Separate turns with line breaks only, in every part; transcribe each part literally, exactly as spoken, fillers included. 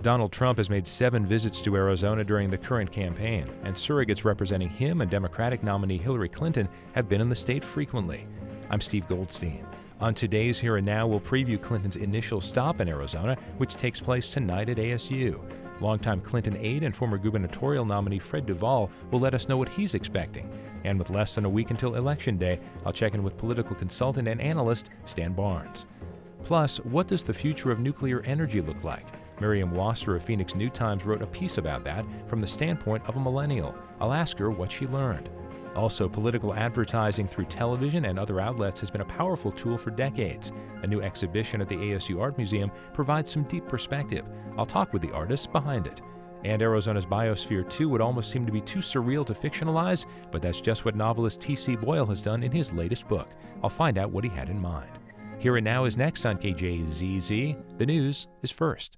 Donald Trump has made seven visits to Arizona during the current campaign, and surrogates representing him and Democratic nominee Hillary Clinton have been in the state frequently. I'm Steve Goldstein. On today's Here and Now, we'll preview Clinton's initial stop in Arizona, which takes place tonight at A S U. Longtime Clinton aide and former gubernatorial nominee Fred Duvall will let us know what he's expecting. And with less than a week until Election Day, I'll check in with political consultant and analyst Stan Barnes. Plus, what does the future of nuclear energy look like? Miriam Wasser of Phoenix New Times wrote a piece about that from the standpoint of a millennial. I'll ask her what she learned. Also, political advertising through television and other outlets has been a powerful tool for decades. A new exhibition at the A S U Art Museum provides some deep perspective. I'll talk with the artists behind it. And Arizona's Biosphere two would almost seem to be too surreal to fictionalize, but that's just what novelist T C Boyle has done in his latest book. I'll find out what he had in mind. Here and Now is next on K J Z Z. The news is first.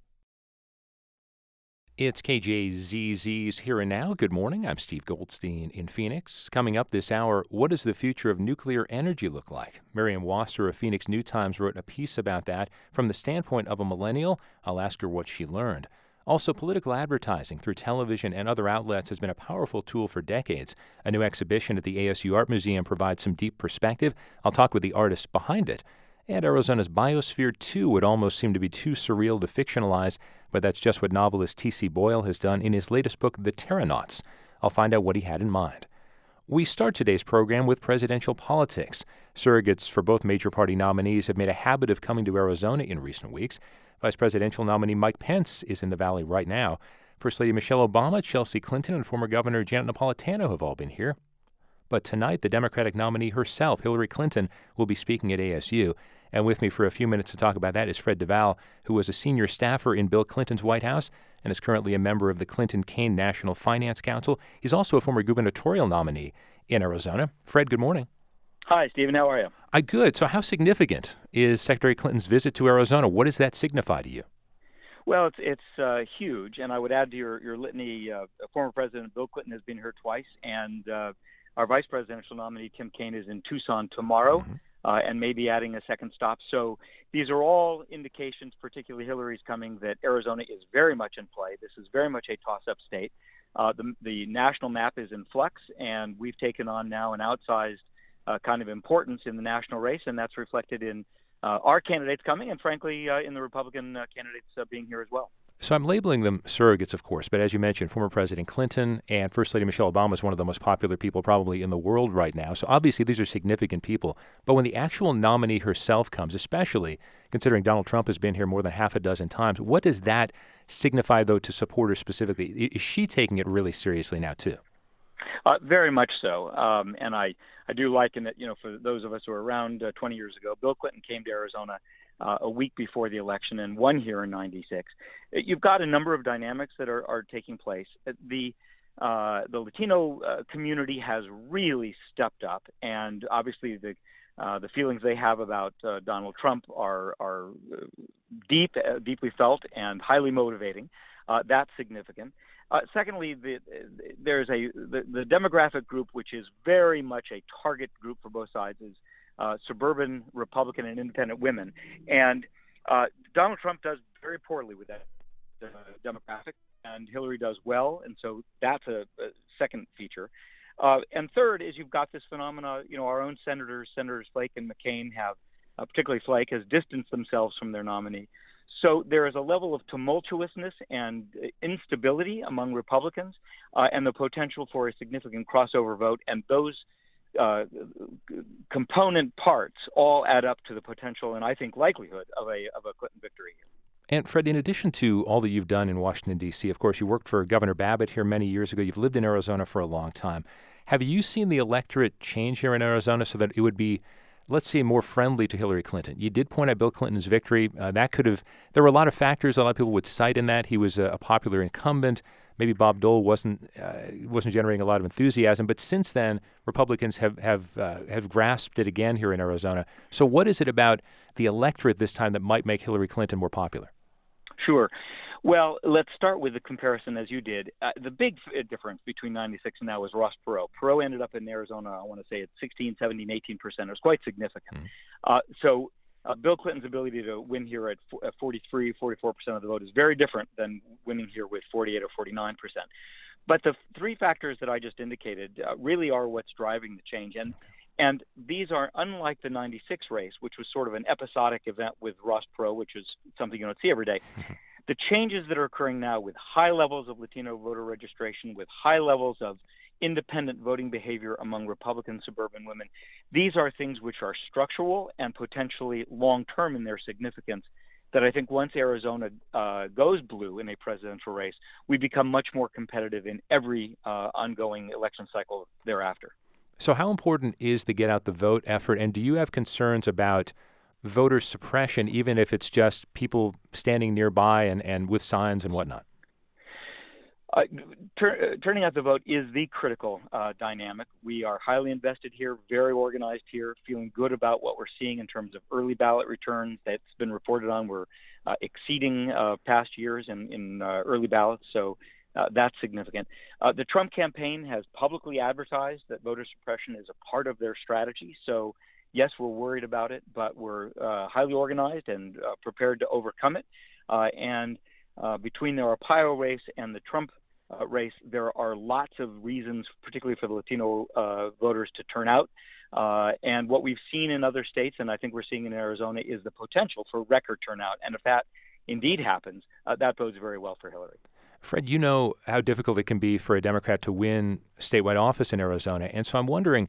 It's K J Z Z's Here and Now. Good morning. I'm Steve Goldstein in Phoenix. Coming up this hour, what does the future of nuclear energy look like? Miriam Wasser of Phoenix New Times wrote a piece about that from the standpoint of a millennial. I'll ask her what she learned. Also, political advertising through television and other outlets has been a powerful tool for decades. A new exhibition at the A S U Art Museum provides some deep perspective. I'll talk with the artists behind it. And Arizona's Biosphere two would almost seem to be too surreal to fictionalize, but that's just what novelist T C Boyle has done in his latest book, The Terranauts. I'll find out what he had in mind. We start today's program with presidential politics. Surrogates for both major party nominees have made a habit of coming to Arizona in recent weeks. Vice presidential nominee Mike Pence is in the Valley right now. First Lady Michelle Obama, Chelsea Clinton, and former Governor Janet Napolitano have all been here. But tonight, the Democratic nominee herself, Hillary Clinton, will be speaking at A S U. And with me for a few minutes to talk about that is Fred Duvall, who was a senior staffer in Bill Clinton's White House and is currently a member of the Clinton-Cain National Finance Council. He's also a former gubernatorial nominee in Arizona. Fred, good morning.
Hi, Stephen. How are you?
I good. So how significant is Secretary Clinton's visit to Arizona? What does that signify to you?
Well, it's it's uh, huge, and I would add to your, your litany, uh, former President Bill Clinton has been here twice, and uh, our vice presidential nominee, Tim Kaine, is in Tucson tomorrow. Mm-hmm. Uh, and maybe adding a second stop. So these are all indications, particularly Hillary's coming, that Arizona is very much in play. This is very much a toss-up state. Uh, the, the national map is in flux, and we've taken on now an outsized uh, kind of importance in the national race, and that's reflected in uh, our candidates coming and, frankly, uh, in the Republican uh, candidates uh, being here as well.
So I'm labeling them surrogates, of course, but as you mentioned, former President Clinton and First Lady Michelle Obama is one of the most popular people probably in the world right now. So obviously these are significant people. But when the actual nominee herself comes, especially considering Donald Trump has been here more than half a dozen times, what does that signify, though, to supporters specifically? Is she taking it really seriously now, too?
Uh, very much so. Um, and I, I do liken it, you know, for those of us who were around uh, twenty years ago, Bill Clinton came to Arizona Uh, a week before the election and won here in ninety-six. You've got a number of dynamics that are, are taking place. The uh, the Latino uh, community has really stepped up, and obviously the uh, the feelings they have about uh, Donald Trump are are deep, uh, deeply felt, and highly motivating. Uh, that's significant. Uh, secondly, the, there's a the, the demographic group, which is very much a target group for both sides, is Uh, suburban Republican and independent women. And uh, Donald Trump does very poorly with that uh, demographic, and Hillary does well, and so that's a, a second feature. Uh, and third is you've got this phenomena, you know, our own senators, Senators Flake and McCain have, uh, particularly Flake, has distanced themselves from their nominee. So there is a level of tumultuousness and instability among Republicans uh, and the potential for a significant crossover vote, and those Uh, component parts all add up to the potential and I think likelihood of a of a Clinton victory here.
And Fred, in addition to all that you've done in Washington, D C, of course, you worked for Governor Babbitt here many years ago. You've lived in Arizona for a long time. Have you seen the electorate change here in Arizona so that it would be, let's say, more friendly to Hillary Clinton? You did point out Bill Clinton's victory. Uh, that could have, there were a lot of factors a lot of people would cite in that. He was a, a popular incumbent. Maybe Bob Dole wasn't uh, wasn't generating a lot of enthusiasm, but since then, Republicans have have uh, have grasped it again here in Arizona. So, what is it about the electorate this time that might make Hillary Clinton more popular?
Sure. Well, let's start with the comparison as you did. Uh, the big f- difference between ninety-six and now was Ross Perot. Perot ended up in Arizona, I want to say, at sixteen, seventeen, eighteen percent. It was quite significant. Mm-hmm. Uh, so Uh, Bill Clinton's ability to win here at forty-three, forty-four percent of the vote is very different than winning here with forty-eight or forty-nine percent. But the three factors that I just indicated uh, really are what's driving the change. And and these are unlike the ninety-six race, which was sort of an episodic event with Ross Perot, which is something you don't see every day. The changes that are occurring now with high levels of Latino voter registration, with high levels of independent voting behavior among Republican suburban women, these are things which are structural and potentially long-term in their significance, that I think once Arizona uh, goes blue in a presidential race, we become much more competitive in every uh, ongoing election cycle thereafter.
So how important is the get out the vote effort, and do you have concerns about voter suppression, even if it's just people standing nearby and, and with signs and whatnot?
Uh, tur- turning out the vote is the critical uh, dynamic. We are highly invested here, very organized here, feeling good about what we're seeing in terms of early ballot returns that's been reported on. We're uh, exceeding uh, past years in, in uh, early ballots, so uh, that's significant. Uh, the Trump campaign has publicly advertised that voter suppression is a part of their strategy, so yes, we're worried about it, but we're uh, highly organized and uh, prepared to overcome it. Uh, and uh, between the Arpaio race and the Trump Uh, race, there are lots of reasons, particularly for the Latino uh, voters, to turn out. Uh, and what we've seen in other states, and I think we're seeing in Arizona, is the potential for record turnout. And if that indeed happens, uh, that bodes very well for Hillary.
Fred, you know how difficult it can be for a Democrat to win statewide office in Arizona. And so I'm wondering,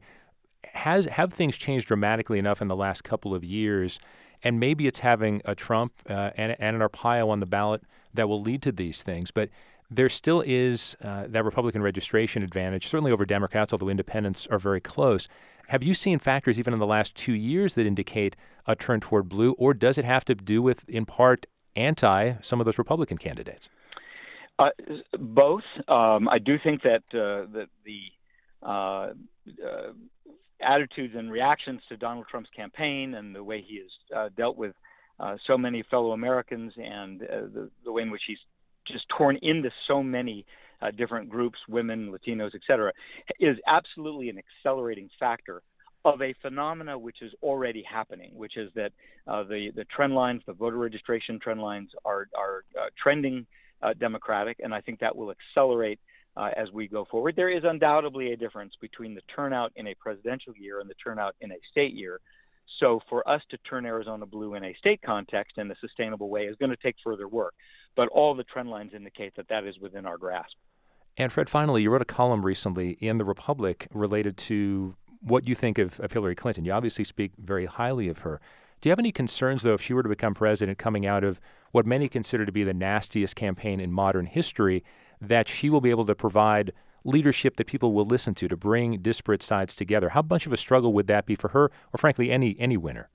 has have things changed dramatically enough in the last couple of years? And maybe it's having a Trump uh, and, and an Arpaio on the ballot that will lead to these things. But there still is uh, that Republican registration advantage, certainly over Democrats, although independents are very close. Have you seen factors even in the last two years that indicate a turn toward blue, or does it have to do with, in part, anti some of those Republican candidates?
Uh, both. Um, I do think that, uh, that the uh, uh, attitudes and reactions to Donald Trump's campaign and the way he has uh, dealt with uh, so many fellow Americans and uh, the, the way in which he's just torn into so many uh, different groups, women, Latinos, et cetera, is absolutely an accelerating factor of a phenomena which is already happening, which is that uh, the, the trend lines, the voter registration trend lines are, are uh, trending uh, Democratic, and I think that will accelerate uh, as we go forward. There is undoubtedly a difference between the turnout in a presidential year and the turnout in a state year. So for us to turn Arizona blue in a state context in a sustainable way is going to take further work. But all the trend lines indicate that that is within our grasp.
And Fred, finally, you wrote a column recently in The Republic related to what you think of, of Hillary Clinton. You obviously speak very highly of her. Do you have any concerns, though, if she were to become president, coming out of what many consider to be the nastiest campaign in modern history, that she will be able to provide leadership that people will listen to, to bring disparate sides together? How much of a struggle would that be for her, or frankly, any any winner?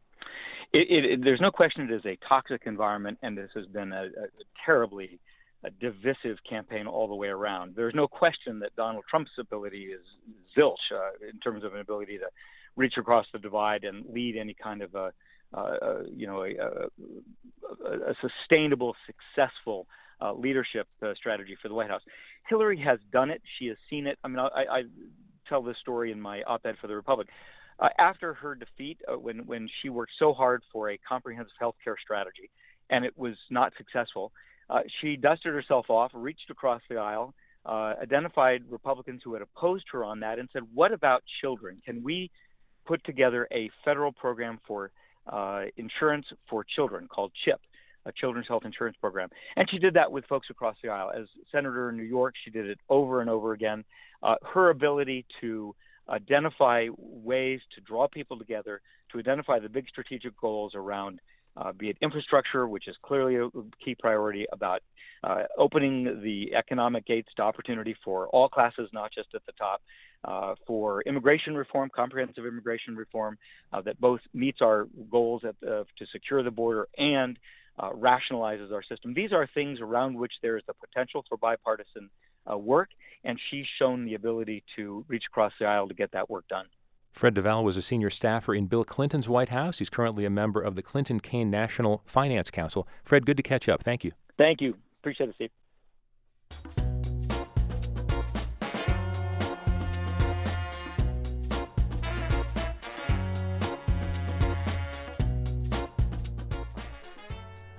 It, it, it, there's no question it is a toxic environment, and this has been a, a terribly a divisive campaign all the way around. There's no question that Donald Trump's ability is zilch uh, in terms of an ability to reach across the divide and lead any kind of a, uh, you know, a, a, a sustainable, successful uh, leadership uh, strategy for the White House. Hillary has done it. She has seen it. I mean, I, I tell this story in my op-ed for the Republic. Uh, after her defeat, uh, when when she worked so hard for a comprehensive health care strategy, and it was not successful, uh, she dusted herself off, reached across the aisle, uh, identified Republicans who had opposed her on that, and said, "What about children? Can we put together a federal program for uh, insurance for children called CHIP, a Children's Health Insurance Program?" And she did that with folks across the aisle. As senator in New York, she did it over and over again. Uh, her ability to identify ways to draw people together, to identify the big strategic goals around, uh, be it infrastructure, which is clearly a key priority, about uh, opening the economic gates to opportunity for all classes, not just at the top, uh, for immigration reform, comprehensive immigration reform, uh, that both meets our goals at, uh, to secure the border and uh, rationalizes our system. These are things around which there is the potential for bipartisan uh, work, and she's shown the ability to reach across the aisle to get that work done.
Fred Duvall was a senior staffer in Bill Clinton's White House. He's currently a member of the Clinton-Cain National Finance Council. Fred, good to catch up. Thank you.
Thank you. Appreciate it, Steve.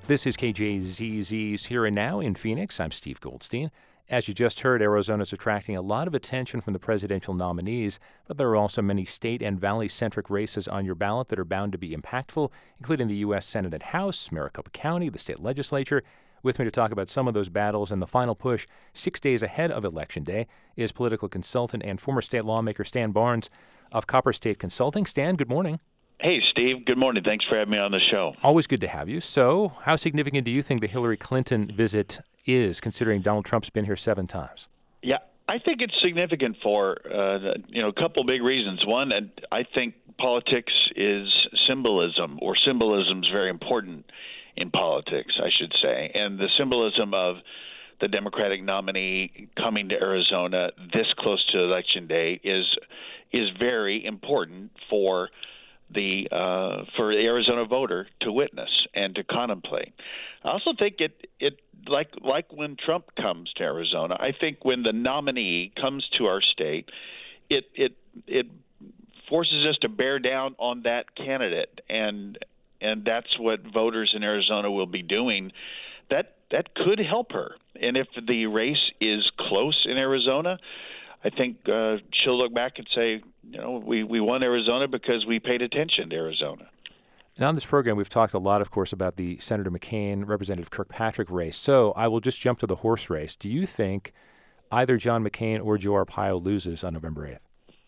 This is K J Z Z's Here and Now in Phoenix. I'm Steve Goldstein. As you just heard, Arizona is attracting a lot of attention from the presidential nominees, but there are also many state and valley-centric races on your ballot that are bound to be impactful, including the U S Senate and House, Maricopa County, the state legislature. With me to talk about some of those battles and the final push six days ahead of Election Day is political consultant and former state lawmaker Stan Barnes of Copper State Consulting. Stan, good morning.
Hey, Steve. Good morning. Thanks for having me on the show.
Always good to have you. So, how significant do you think the Hillary Clinton visit is, considering Donald Trump's been here seven times?
Yeah, I think it's significant for uh, you know a couple big reasons. One, I think politics is symbolism, or symbolism is very important in politics, I should say. And the symbolism of the Democratic nominee coming to Arizona this close to Election Day is is very important for the uh, for the Arizona voter to witness and to contemplate. I also think it it like like when Trump comes to Arizona, I think when the nominee comes to our state, it it it forces us to bear down on that candidate, and and that's what voters in Arizona will be doing. That that could help her. And if the race is close in Arizona, I think uh, she'll look back and say, you know, we, we won Arizona because we paid attention to Arizona.
Now, on this program, we've talked a lot, of course, about the Senator McCain, Representative Kirkpatrick race. So I will just jump to the horse race. Do you think either John McCain or Joe Arpaio loses on November eighth?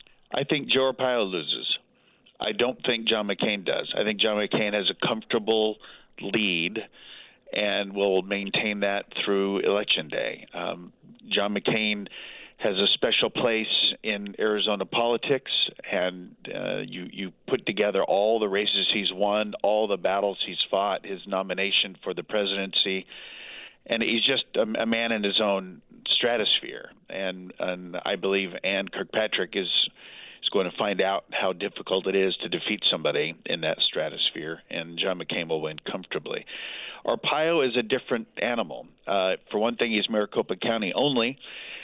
I think Joe Arpaio loses. I don't think John McCain does. I think John McCain has a comfortable lead and will maintain that through Election Day. Um, John McCain has a special place in Arizona politics, and uh, you you put together all the races he's won, all the battles he's fought, his nomination for the presidency, and he's just a, a man in his own stratosphere. And and I believe Ann Kirkpatrick is is going to find out how difficult it is to defeat somebody in that stratosphere, and John McCain will win comfortably. Arpaio is a different animal. Uh, for one thing, he's Maricopa County only.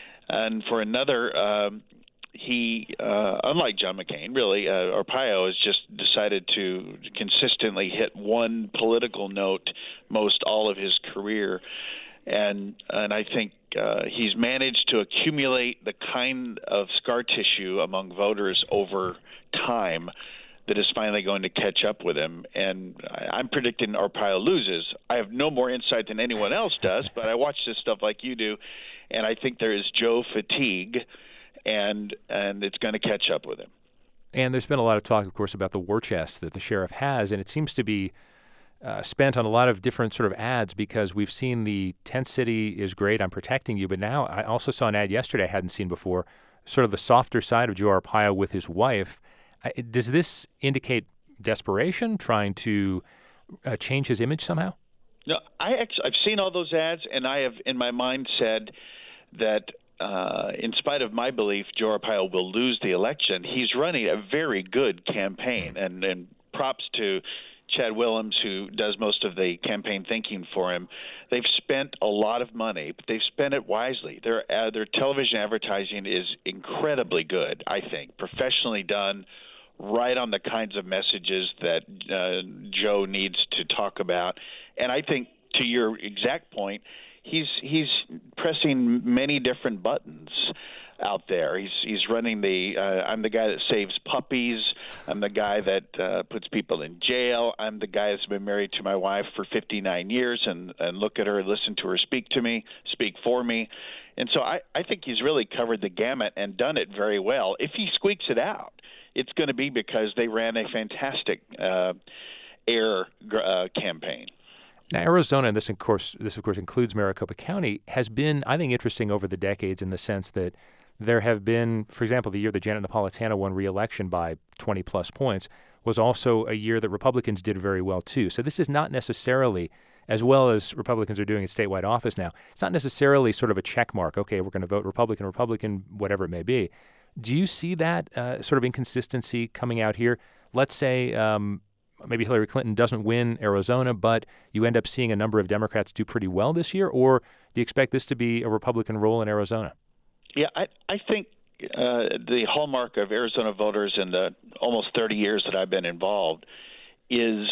And for another, um, he, uh, unlike John McCain, really, uh, Arpaio has just decided to consistently hit one political note most all of his career. And and I think uh, he's managed to accumulate the kind of scar tissue among voters over time that is finally going to catch up with him. And I'm predicting Arpaio loses. I have no more insight than anyone else does, but I watch this stuff like you do. And I think there is Joe fatigue, and and it's going to catch up with him.
And there's been a lot of talk, of course, about the war chest that the sheriff has, and it seems to be uh, spent on a lot of different sort of ads, because we've seen the tent city is great, I'm protecting you, but now I also saw an ad yesterday I hadn't seen before, sort of the softer side of Joe Arpaio with his wife. I, does this indicate desperation, trying to uh, change his image somehow?
No, I actually, I've seen all those ads, and I have in my mind said that uh, in spite of my belief Joe Arpaio will lose the election, he's running a very good campaign. And, and props to Chad Willems, who does most of the campaign thinking for him. They've spent a lot of money, but they've spent it wisely. Their, uh, their television advertising is incredibly good, I think, professionally done, right on the kinds of messages that uh, Joe needs to talk about. And I think, to your exact point, he's he's pressing many different buttons out there. He's he's running the uh, I'm the guy that saves puppies. I'm the guy that uh, puts people in jail. I'm the guy that's been married to my wife for fifty-nine years and, and look at her, listen to her speak to me, speak for me. And so I, I think he's really covered the gamut and done it very well. If he squeaks it out, it's going to be because they ran a fantastic uh, air uh, campaign.
Now, Arizona, and this of course, this of course includes Maricopa County, has been, I think, interesting over the decades in the sense that there have been, for example, the year that Janet Napolitano won re-election by twenty plus points was also a year that Republicans did very well too. So this is not necessarily, as well as Republicans are doing in statewide office now, it's not necessarily sort of a check mark. Okay, we're going to vote Republican, Republican, whatever it may be. Do you see that uh, sort of inconsistency coming out here? Let's say um, maybe Hillary Clinton doesn't win Arizona, but you end up seeing a number of Democrats do pretty well this year, or do you expect this to be a Republican role in Arizona?
Yeah, I, I think uh, the hallmark of Arizona voters in the almost thirty years that I've been involved is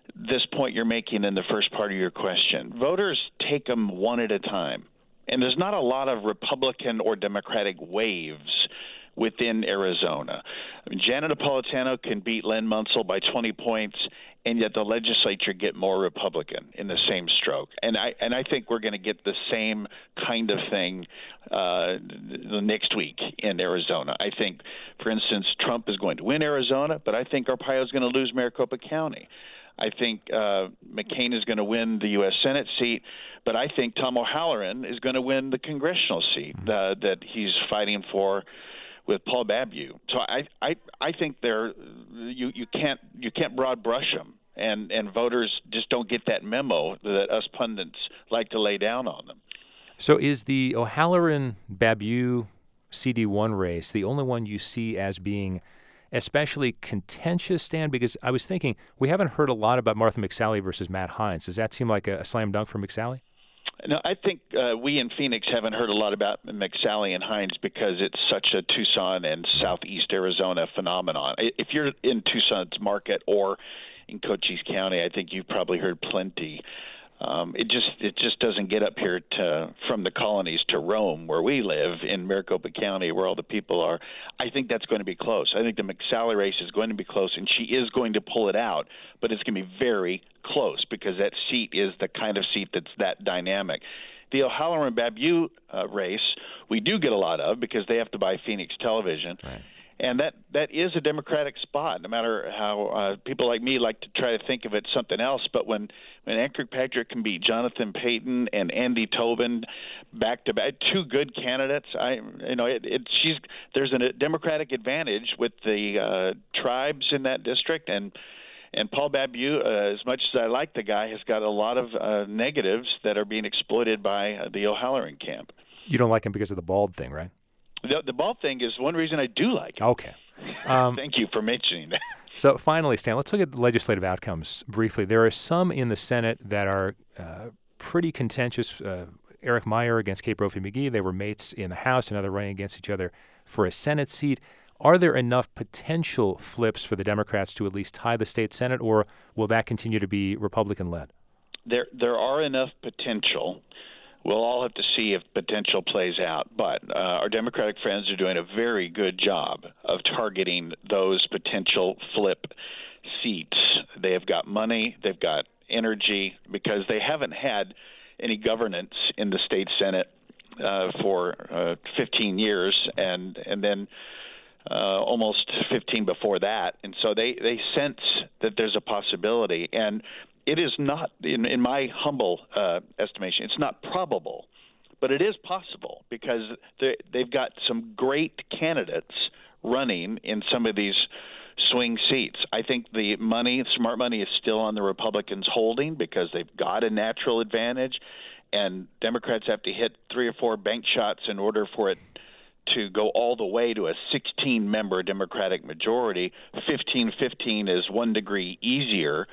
this point you're making in the first part of your question. Voters take them one at a time. And there's not a lot of Republican or Democratic waves within Arizona. I mean, Janet Napolitano can beat Len Munsell by twenty points, and yet the legislature get more Republican in the same stroke. And I and I think we're going to get the same kind of thing uh, the next week in Arizona. I think, for instance, Trump is going to win Arizona, but I think Arpaio is going to lose Maricopa County. I think uh, McCain is going to win the U S Senate seat, but I think Tom O'Halloran is going to win the congressional seat uh, that he's fighting for with Paul Babiou. So I I, I think they're you, you can't you can't broad brush them, and, and voters just don't get that memo that us pundits like to lay down on them.
So is the O'Halloran-Babiou C D one race the only one you see as being especially contentious, Stan? Because I was thinking we haven't heard a lot about Martha McSally versus Matt Hines. Does that seem like a, a slam dunk for McSally?
No, I think uh, we in Phoenix haven't heard a lot about McSally and Hines because it's such a Tucson and southeast Arizona phenomenon. If you're in Tucson's market or in Cochise County, I think you've probably heard plenty. Um, it just it just doesn't get up here to from the colonies to Rome, where we live in Maricopa County, where all the people are. I think that's going to be close. I think the McSally race is going to be close, and she is going to pull it out, but it's going to be very close because that seat is the kind of seat that's that dynamic. The O'Halloran-Babiou uh, race we do get a lot of because they have to buy Phoenix television.
Right.
And that, that is a Democratic spot, no matter how uh, people like me like to try to think of it something else. But when, when Ann Kirkpatrick can beat Jonathan Payton and Andy Tobin back to back, two good candidates, I you know it, it she's there's a Democratic advantage with the uh, tribes in that district, and and Paul Babiou, uh, as much as I like the guy, has got a lot of uh, negatives that are being exploited by uh, the O'Halloran camp.
You don't like him because of the bald thing, right?
The, the bald thing is one reason I do like it.
Okay. Um,
Thank you for mentioning that.
So finally, Stan, let's look at the legislative outcomes briefly. There are some in the Senate that are uh, pretty contentious. Uh, Eric Meyer against Kate Brophy-McGee. They were mates in the House, and now they're running against each other for a Senate seat. Are there enough potential flips for the Democrats to at least tie the state Senate, or will that continue to be Republican-led?
There, there are enough potential. We'll all have to see if potential plays out. But uh, our Democratic friends are doing a very good job of targeting those potential flip seats. They have got money, they've got energy, because they haven't had any governance in the state Senate uh, for uh, fifteen years, and and then uh, almost fifteen before that. And so they, they sense that there's a possibility. And it is not, in, in my humble uh, estimation, it's not probable, but it is possible because they, they've got some great candidates running in some of these swing seats. I think the money, smart money, is still on the Republicans holding because they've got a natural advantage, and Democrats have to hit three or four bank shots in order for it to go all the way to a sixteen-member Democratic majority. fifteen fifteen is one degree easier.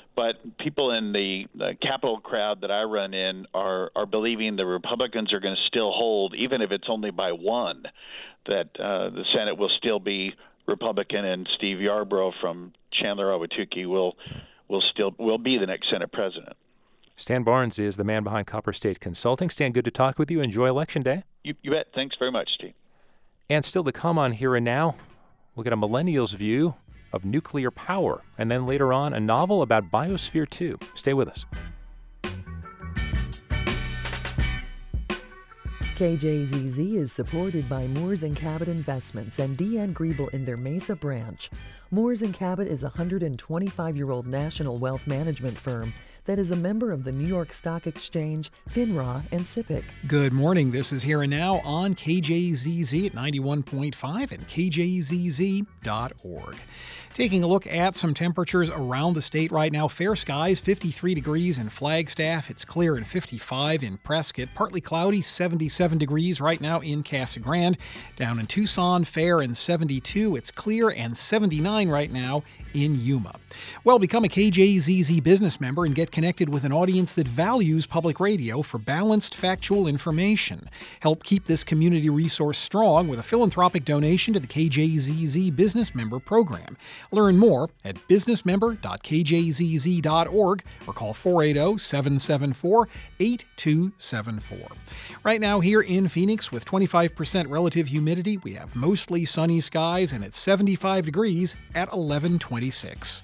But people in the, the Capitol crowd that I run in are, are believing the Republicans are going to still hold, even if it's only by one, that uh, the Senate will still be Republican, and Steve Yarbrough from Chandler-Ahwatukee will will still will be the next Senate president.
Stan Barnes is the man behind Copper State Consulting. Stan, good to talk with you. Enjoy Election Day.
You, you bet. Thanks very much, Steve.
And still to come on Here and Now, we'll get a millennial's view of nuclear power, and then later on, a novel about Biosphere two. Stay with us.
K J Z Z is supported by Moores and Cabot Investments and Deanne Griebel in their Mesa branch. Moores and Cabot is a one hundred twenty-five-year-old national wealth management firm that is a member of the New York Stock Exchange, FINRA, and SIPC.
Good morning. This is Here and Now on K J Z Z at ninety-one point five and K J Z Z dot org. Taking a look at some temperatures around the state right now. Fair skies, fifty-three degrees in Flagstaff. It's clear and fifty-five in Prescott. Partly cloudy, seventy-seven degrees right now in Casa Grande. Down in Tucson, fair and seventy-two. It's clear and seventy-nine right now in Yuma. Well, become a K J Z Z business member and get connected with an audience that values public radio for balanced, factual information. Help keep this community resource strong with a philanthropic donation to the K J Z Z Business Member Program. Learn more at business member dot k j z z dot org or call four eight zero, seven seven four, eight two seven four. Right now here in Phoenix with twenty-five percent relative humidity, we have mostly sunny skies and it's seventy-five degrees at eleven twenty-six.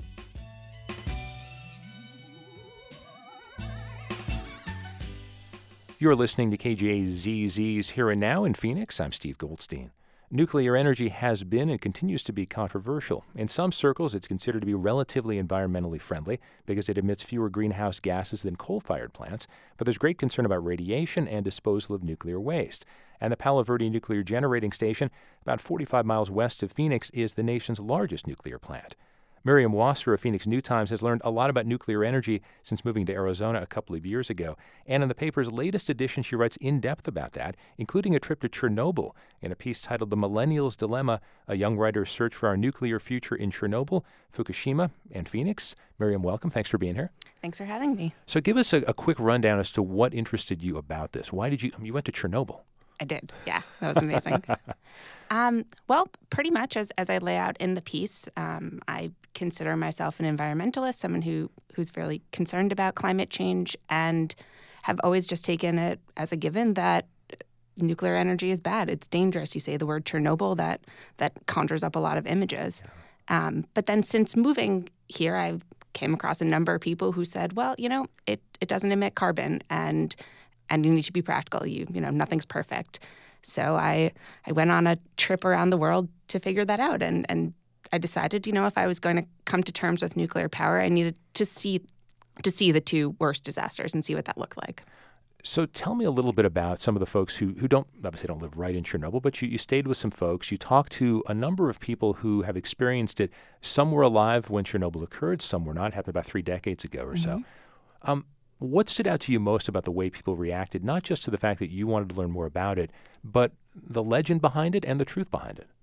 You're listening to K J Z Z's Here and Now in Phoenix. I'm Steve Goldstein. Nuclear energy has been and continues to be controversial. In some circles, it's considered to be relatively environmentally friendly because it emits fewer greenhouse gases than coal-fired plants, but there's great concern about radiation and disposal of nuclear waste. And the Palo Verde Nuclear Generating Station, about forty-five miles west of Phoenix, is the nation's largest nuclear plant. Miriam Wasser of Phoenix New Times has learned a lot about nuclear energy since moving to Arizona a couple of years ago. And in the paper's latest edition, she writes in depth about that, including a trip to Chernobyl in a piece titled The Millennial's Dilemma, a young writer's search for our nuclear future in Chernobyl, Fukushima, and Phoenix. Miriam, welcome. Thanks for being here.
Thanks for having me.
So give us a, a quick rundown as to what interested you about this. Why did you, you went to Chernobyl?
I did. Yeah, that was amazing. um, well, pretty much as, as I lay out in the piece, um, I consider myself an environmentalist, someone who who's fairly concerned about climate change, and have always just taken it as a given that nuclear energy is bad. It's dangerous. You say the word Chernobyl, that that conjures up a lot of images. Yeah. Um, but then since moving here, I came across a number of people who said, well, you know, it, it doesn't emit carbon, and And you need to be practical. You you know, nothing's perfect. So I I went on a trip around the world to figure that out. And, and I decided, you know, if I was going to come to terms with nuclear power, I needed to see to see the two worst disasters and see what that looked like.
So tell me a little bit about some of the folks who, who don't, obviously don't live right in Chernobyl, but you, you stayed with some folks. You talked to a number of people who have experienced it. Some were alive when Chernobyl occurred. Some were not. It happened about three decades ago or
mm-hmm.
so. Um, What stood out to you most about the way people reacted, not just to the fact that you wanted to learn more about it, but the legend behind it and the truth behind it?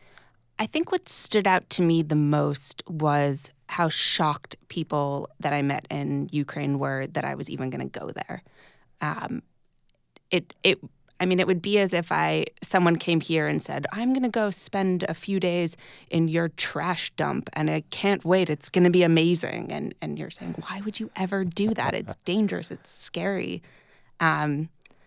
I think what stood out to me the most was how shocked people that I met in Ukraine were that I was even going to go there. Um, it it I mean, it would be as if I someone came here and said, I'm going to go spend a few days in your trash dump, and I can't wait. It's going to be amazing. And and you're saying, why would you ever do that? It's dangerous. It's scary. Um,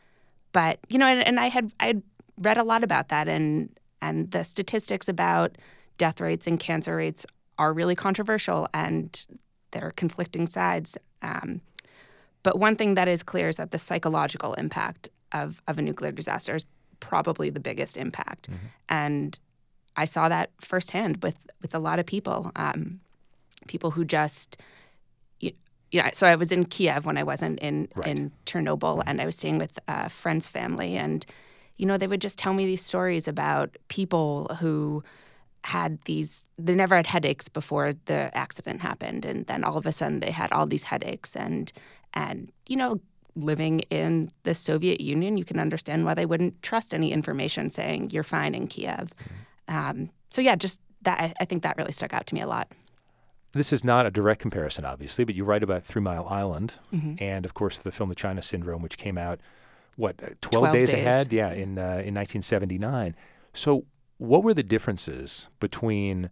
but, you know, and, and I had I had read a lot about that, and and the statistics about death rates and cancer rates are really controversial, and there are conflicting sides. Um, but one thing that is clear is that the psychological impact Of, of a nuclear disaster is probably the biggest impact. Mm-hmm. And I saw that firsthand with, with a lot of people, um, people who just, you, you know, so I was in Kiev when I wasn't in,
right.
in Chernobyl, mm-hmm. and I was staying with a friend's family. And, you know, they would just tell me these stories about people who had these, they never had headaches before the accident happened. And then all of a sudden they had all these headaches. And, and you know, living in the Soviet Union, you can understand why they wouldn't trust any information saying you're fine in Kiev. Um, so yeah, just that, I, I think that really stuck out to me a lot.
This is not a direct comparison, obviously, but you write about Three Mile Island
mm-hmm.
and, of course, the film The China Syndrome, which came out, what, twelve,
twelve
days,
days
ahead? Yeah, in uh, in nineteen seventy-nine. So what were the differences between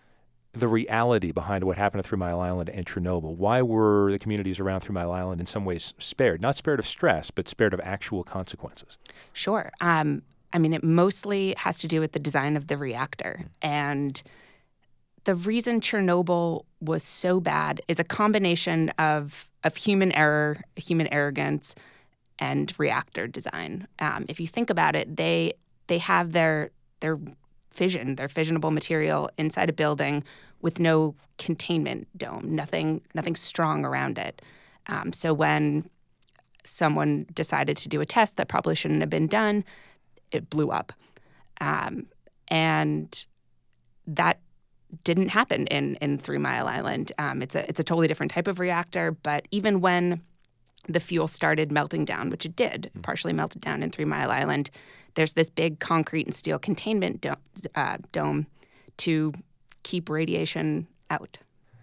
the reality behind what happened at Three Mile Island and Chernobyl? Why were the communities around Three Mile Island in some ways spared? Not spared of stress, but spared of actual consequences.
Sure. Um, I mean, it mostly has to do with the design of the reactor. Mm. And the reason Chernobyl was so bad is a combination of, of human error, human arrogance, and reactor design. Um, if you think about it, they they have their their fission, their fissionable material inside a building with no containment dome, nothing nothing strong around it. Um, so when someone decided to do a test that probably shouldn't have been done, it blew up. Um, and that didn't happen in, in Three Mile Island. Um, it's a it's a totally different type of reactor, but even when the fuel started melting down, which it did, mm-hmm. partially melted down in Three Mile Island, there's this big concrete and steel containment do- uh, dome to keep radiation out.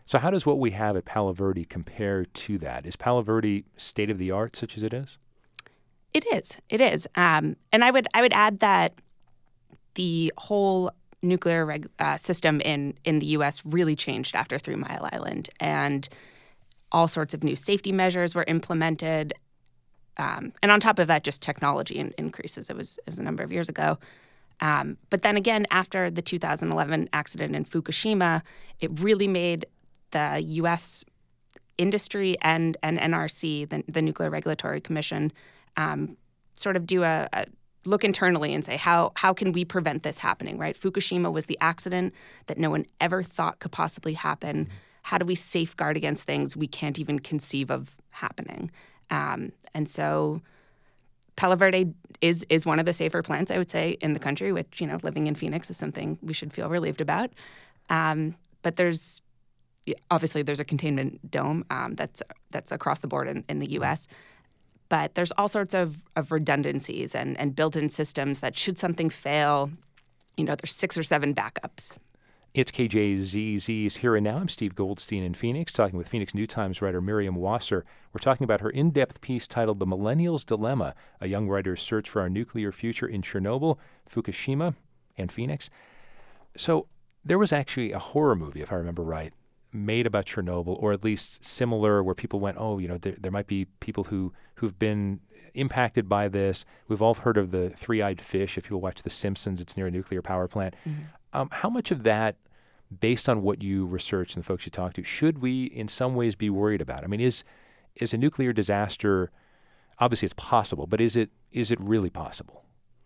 So how does what we have at Palo Verde compare to that? Is Palo Verde state-of-the-art such as it is?
It is. It is. Um, and I would I would add that the whole nuclear reg- uh, system in, in the U S really changed after Three Mile Island. And all sorts of new safety measures were implemented. Um, and on top of that, just technology in- increases. It was, it was a number of years ago. Um, but then again, after the two thousand eleven accident in Fukushima, it really made the U S industry and, and N R C, the, the Nuclear Regulatory Commission, um, sort of do a, a look internally and say, how how can we prevent this happening, right? Fukushima was the accident that no one ever thought could possibly happen. Mm-hmm. How do we safeguard against things we can't even conceive of happening? Um, and so Palo Verde is is one of the safer plants, I would say, in the country, which, you know, living in Phoenix is something we should feel relieved about. Um, but there's obviously there's a containment dome um, that's that's across the board in, in the U S, but there's all sorts of, of redundancies and, and built-in systems that should something fail, you know, there's six or seven backups.
It's K J Z Z's Here and Now. I'm Steve Goldstein in Phoenix, talking with Phoenix New Times writer Miriam Wasser. We're talking about her in-depth piece titled The Millennial's Dilemma, a young writer's search for our nuclear future in Chernobyl, Fukushima, and Phoenix. So there was actually a horror movie, if I remember right, made about Chernobyl, or at least similar, where people went, oh, you know, there, there might be people who, who've been impacted by this. We've all heard of the three-eyed fish. If people watch The Simpsons, it's near a nuclear power plant. Mm-hmm. Um, how much of that, based on what you researched and the folks you talked to, should we in some ways be worried about? I mean, is is a nuclear disaster, obviously it's possible, but is it is it really possible?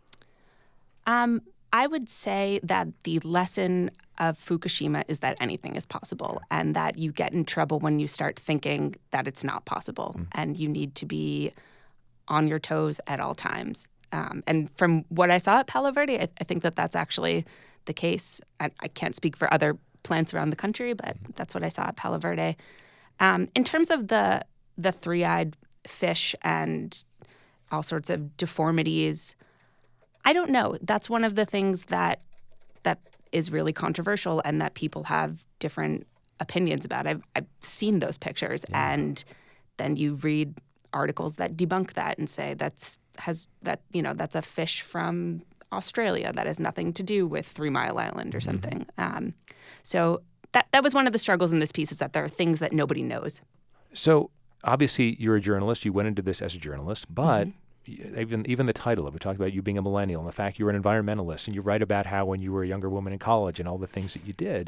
Um, I would say that the lesson of Fukushima is that anything is possible, and that you get in trouble when you start thinking that it's not possible, mm. and you need to be on your toes at all times. Um, and from what I saw at Palo Verde, I, I think that that's actually the case. I, I can't speak for other plants around the country, but that's what I saw at Palo Verde. Um, in terms of the the three-eyed fish and all sorts of deformities, I don't know. That's one of the things that that is really controversial and that people have different opinions about. I've I've seen those pictures, yeah. and then you read articles that debunk that and say that's has that you know that's a fish from Australia that has nothing to do with Three Mile Island or something. Mm-hmm. Um, so that that was one of the struggles in this piece, is that there are things that nobody knows.
So obviously you're a journalist. You went into this as a journalist, but mm-hmm. even even the title of it, we talked about you being a millennial and the fact you were an environmentalist, and you write about how when you were a younger woman in college and all the things that you did.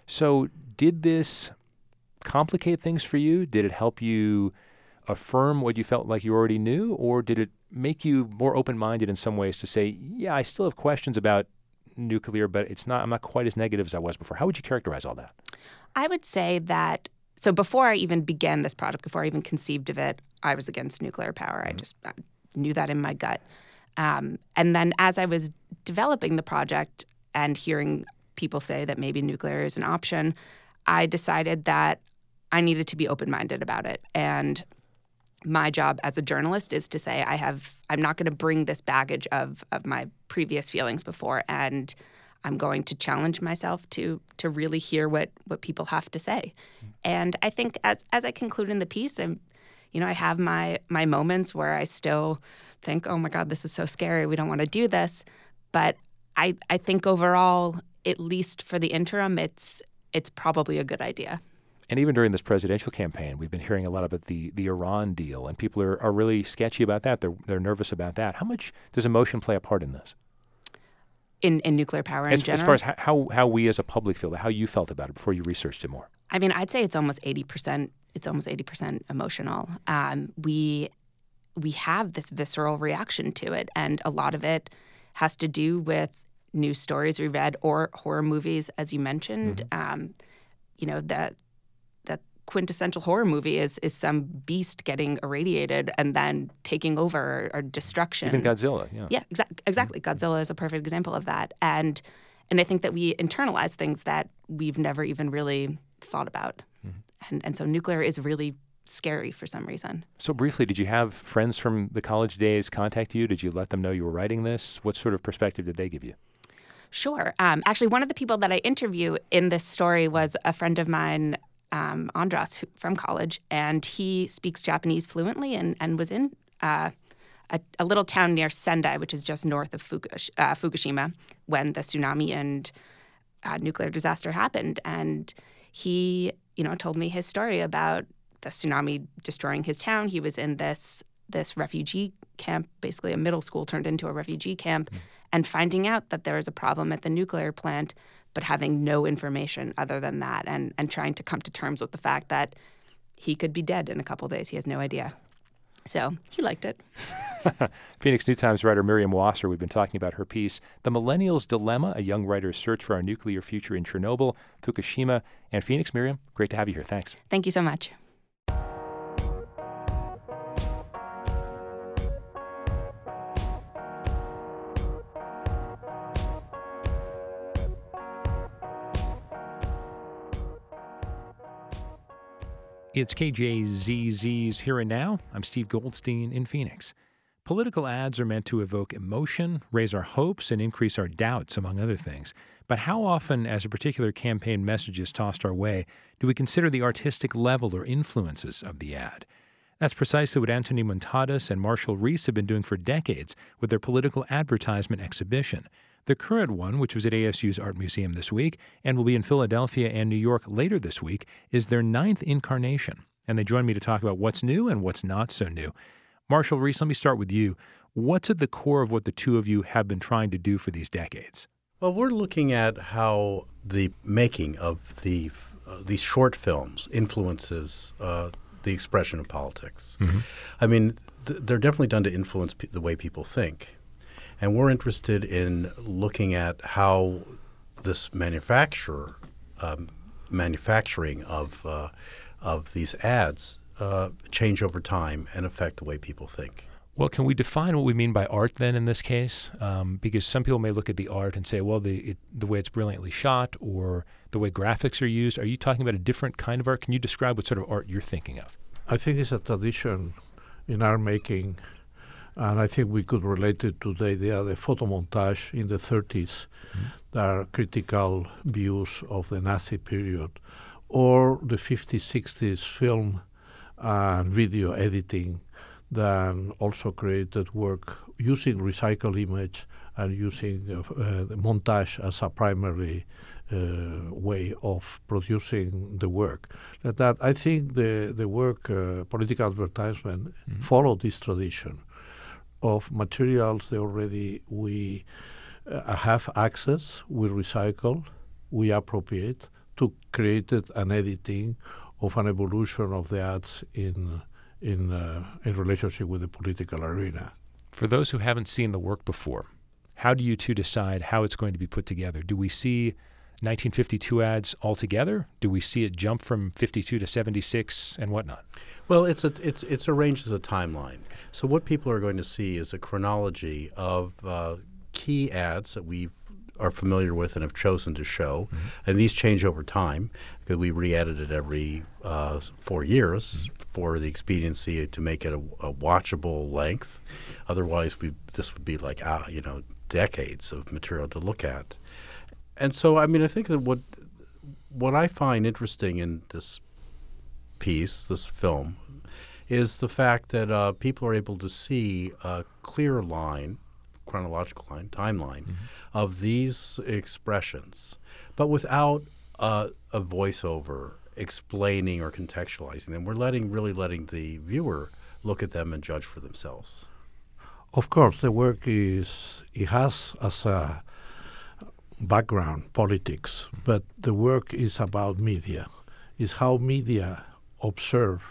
So did this complicate things for you? Did it help you affirm what you felt like you already knew, or did it make you more open-minded in some ways to say, yeah, I still have questions about nuclear, but it's not I'm not quite as negative as I was before? How would you characterize all that?
I would say that, so before I even began this project, before I even conceived of it, I was against nuclear power. Mm-hmm. I just I knew that in my gut. Um, and then as I was developing the project and hearing people say that maybe nuclear is an option, I decided that I needed to be open-minded about it. And my job as a journalist is to say I have I'm not going to bring this baggage of of my previous feelings before, and I'm going to challenge myself to to really hear what what people have to say. Mm-hmm. And I think as as I conclude in the piece, I'm you know I have my my moments where I still think, oh my God, this is so scary. We don't want to do this. But I I think overall, at least for the interim, it's it's probably a good idea.
And even during this presidential campaign, we've been hearing a lot about the, the Iran deal, and people are, are really sketchy about that. They're they're nervous about that. How much does emotion play a part in this?
In in nuclear power in
as,
general?
As far as how, how we as a public feel, how you felt about it before you researched it more?
I mean, I'd say it's almost eighty percent. It's almost eighty percent emotional. Um, we we have this visceral reaction to it, and a lot of it has to do with news stories we read or horror movies, as you mentioned. Mm-hmm. Um, you know, the the quintessential horror movie is is some beast getting irradiated and then taking over or, or destruction.
Even Godzilla, yeah.
Yeah, exa- exactly. Mm-hmm. Godzilla is a perfect example of that. And and I think that we internalize things that we've never even really thought about. Mm-hmm. And and so nuclear is really scary for some reason.
So briefly, did you have friends from the college days contact you? Did you let them know you were writing this? What sort of perspective did they give you?
Sure. Um, actually, one of the people that I interview in this story was a friend of mine um, Andras who, from college, and he speaks Japanese fluently and, and was in uh, a, a little town near Sendai, which is just north of Fukush- uh, Fukushima, when the tsunami and uh, nuclear disaster happened. And he, you know, told me his story about the tsunami destroying his town. He was in this this refugee camp, basically a middle school turned into a refugee camp, mm. and finding out that there was a problem at the nuclear plant, but having no information other than that, and, and trying to come to terms with the fact that he could be dead in a couple of days. He has no idea. So he liked it.
Phoenix New Times writer Miriam Wasser, we've been talking about her piece, The Millennial's Dilemma, a young writer's search for our nuclear future in Chernobyl, Fukushima, and Phoenix. Miriam, great to have you here. Thanks.
Thank you so much.
It's K J Z Z's Here and Now. I'm Steve Goldstein in Phoenix. Political ads are meant to evoke emotion, raise our hopes, and increase our doubts, among other things. But how often, as a particular campaign message is tossed our way, do we consider the artistic level or influences of the ad? That's precisely what Anthony Montadas and Marshall Reese have been doing for decades with their political advertisement exhibition. The current one, which was at A S U's Art Museum this week and will be in Philadelphia and New York later this week, is their ninth incarnation. And they join me to talk about what's new and what's not so new. Marshall Reese, let me start with you. What's at the core of what the two of you have been trying to do for these decades?
Well, we're looking at how the making of the uh, these short films influences uh, the expression of politics. Mm-hmm. I mean, th- they're definitely done to influence pe- the way people think. And we're interested in looking at how this manufacturer, um, manufacturing of uh, of these ads uh, change over time and affect the way people think.
Well, can we define what we mean by art then in this case? Um, because some people may look at the art and say, well, the it, the way it's brilliantly shot or the way graphics are used. Are you talking about a different kind of art? Can you describe what sort of art you're thinking of?
I think it's a tradition in art making. And I think we could relate it to the idea of the photomontage in the thirties, mm-hmm. that are critical views of the Nazi period, or the fifties, sixties film and video editing that also created work using recycled image and using uh, uh, the montage as a primary uh, way of producing the work. That, that I think the, the work, uh, political advertisement, mm-hmm. followed this tradition of materials that already we uh, have access, we recycle, we appropriate to create an editing of an evolution of the ads in in uh, in relationship with the political arena.
For those who haven't seen the work before, how do you two decide how it's going to be put together? Do we see nineteen fifty-two ads altogether? Do we see it jump from fifty-two to seventy-six and whatnot?
Well, it's a, it's it's arranged as a timeline. So what people are going to see is a chronology of uh, key ads that we are familiar with and have chosen to show, mm-hmm. and these change over time because we re-edit it every uh, four years mm-hmm. for the expediency to make it a, a watchable length. Otherwise, we this would be like uh, you know decades of material to look at. And so, I mean, I think that what what I find interesting in this piece, this film, is the fact that uh, people are able to see a clear line, chronological line, timeline, mm-hmm. of these expressions, but without uh, a voiceover explaining or contextualizing them. We're letting really letting the viewer look at them and judge for themselves.
Of course, the work is it has as a background politics, but the work is about media. Is how media observe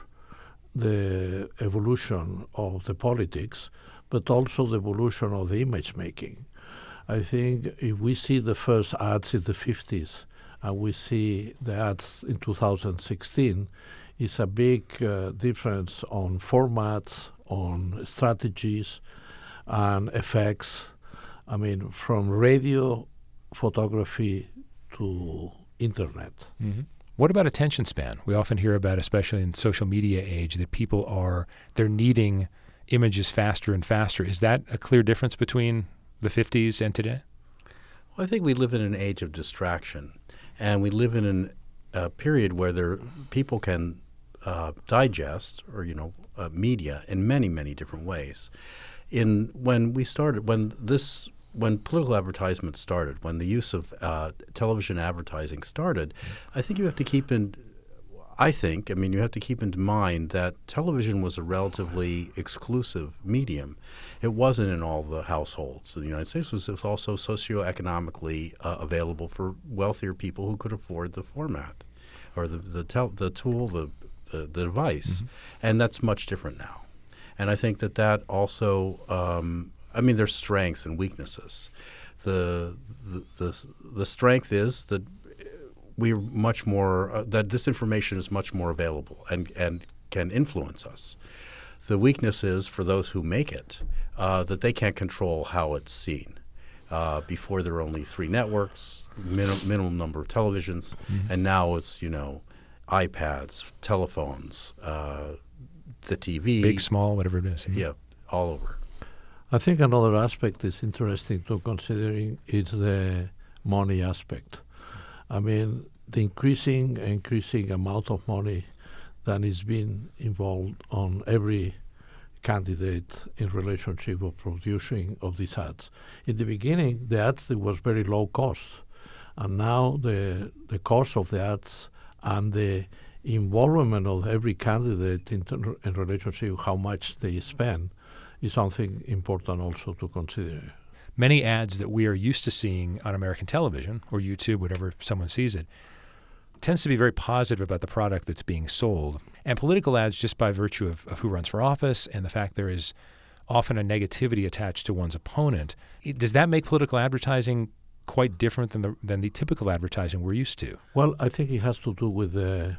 the evolution of the politics, but also the evolution of the image making. I think if we see the first ads in the fifties and we see the ads in two thousand sixteen, it's a big uh, difference on formats, on strategies, and effects. I mean, from radio, photography to internet.
Mm-hmm. What about attention span? We often hear about, especially in social media age, that people are, they're needing images faster and faster. Is that a clear difference between the fifties and today?
Well, I think we live in an age of distraction, and we live in an a period where there people can uh, digest or you know uh, media in many many different ways. In when we started when this when political advertisement started, when the use of uh, television advertising started, I think you have to keep in. I think, I mean, you have to keep in mind that television was a relatively exclusive medium. It wasn't in all the households of the United States. It was, it was also socioeconomically uh, available for wealthier people who could afford the format or the the, tel- the tool, the, the, the device. Mm-hmm. And that's much different now. And I think that that also, um, I mean, there's strengths and weaknesses. The, the, the, the strength is that we're much more uh, that this information is much more available and, and can influence us. The weakness is for those who make it uh, that they can't control how it's seen. Uh, before there were only three networks, min- minimum number of televisions, mm-hmm. and now it's you know iPads, telephones, uh, the T V,
big, small, whatever it is.
Mm-hmm. Yeah, all over.
I think another aspect is interesting to considering is the money aspect. I mean, the increasing increasing amount of money that is being involved on every candidate in relationship of producing of these ads. In the beginning, the ads it was very low cost, and now the the cost of the ads and the involvement of every candidate in, ter- in relationship with how much they spend is something important also to consider.
Many ads that we are used to seeing on American television or YouTube, whatever someone sees it, tends to be very positive about the product that's being sold. And political ads, just by virtue of, of who runs for office and the fact there is often a negativity attached to one's opponent, it, does that make political advertising quite different than the than the typical advertising we're used to?
Well, I think it has to do with the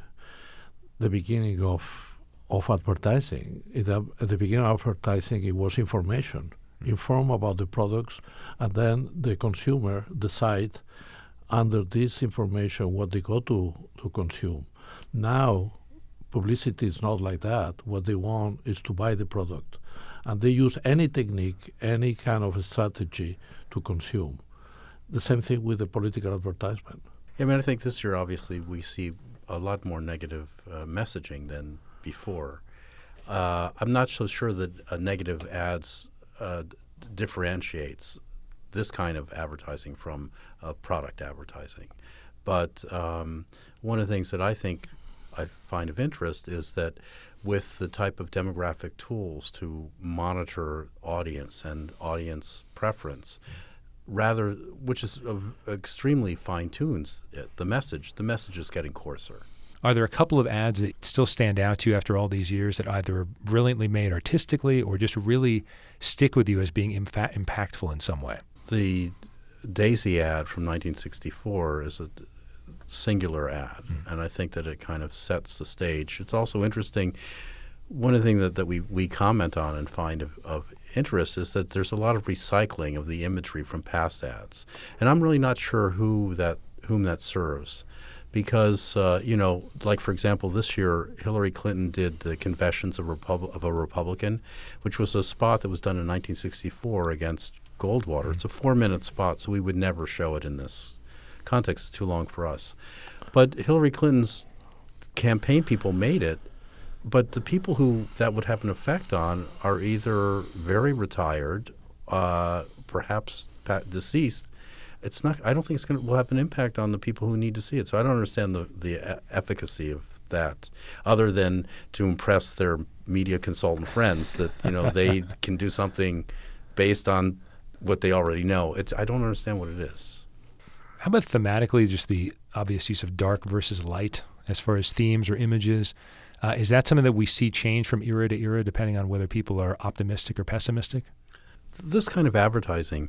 the beginning of of advertising. It, uh, at the beginning of advertising, it was information. Inform about the products, and then the consumer decide under this information what they go to, to consume. Now, publicity is not like that. What they want is to buy the product. And they use any technique, any kind of strategy to consume. The same thing with the political advertisement.
I mean, I think this year, obviously, we see a lot more negative uh, messaging than before. Uh, I'm not so sure that uh, negative ads Uh, d- differentiates this kind of advertising from uh, product advertising. But um, one of the things that I think I find of interest is that with the type of demographic tools to monitor audience and audience preference, rather, which is uh, extremely fine-tunes it, the message, the message is getting coarser.
Are there a couple of ads that still stand out to you after all these years that either are brilliantly made artistically or just really stick with you as being imfa- impactful in some way?
The Daisy ad from nineteen sixty-four is a singular ad, mm. and I think that it kind of sets the stage. It's also interesting. One of the things that, that we, we comment on and find of, of interest is that there's a lot of recycling of the imagery from past ads. And I'm really not sure who that whom that serves. Because, uh, you know, like, for example, this year, Hillary Clinton did the Confessions of, Repub- of a Republican, which was a spot that was done in nineteen sixty-four against Goldwater. Mm-hmm. It's a four-minute spot, so we would never show it in this context. It's too long for us. But Hillary Clinton's campaign people made it, but the people who that would have an effect on are either very retired, uh, perhaps pa- deceased. It's not. I don't think it's going to will have an impact on the people who need to see it. So I don't understand the the e- efficacy of that, other than to impress their media consultant friends that you know they can do something based on what they already know. It's. I don't understand what it is.
How about thematically, just the obvious use of dark versus light as far as themes or images? Uh, is that something that we see change from era to era, depending on whether people are optimistic or pessimistic?
This kind of advertising,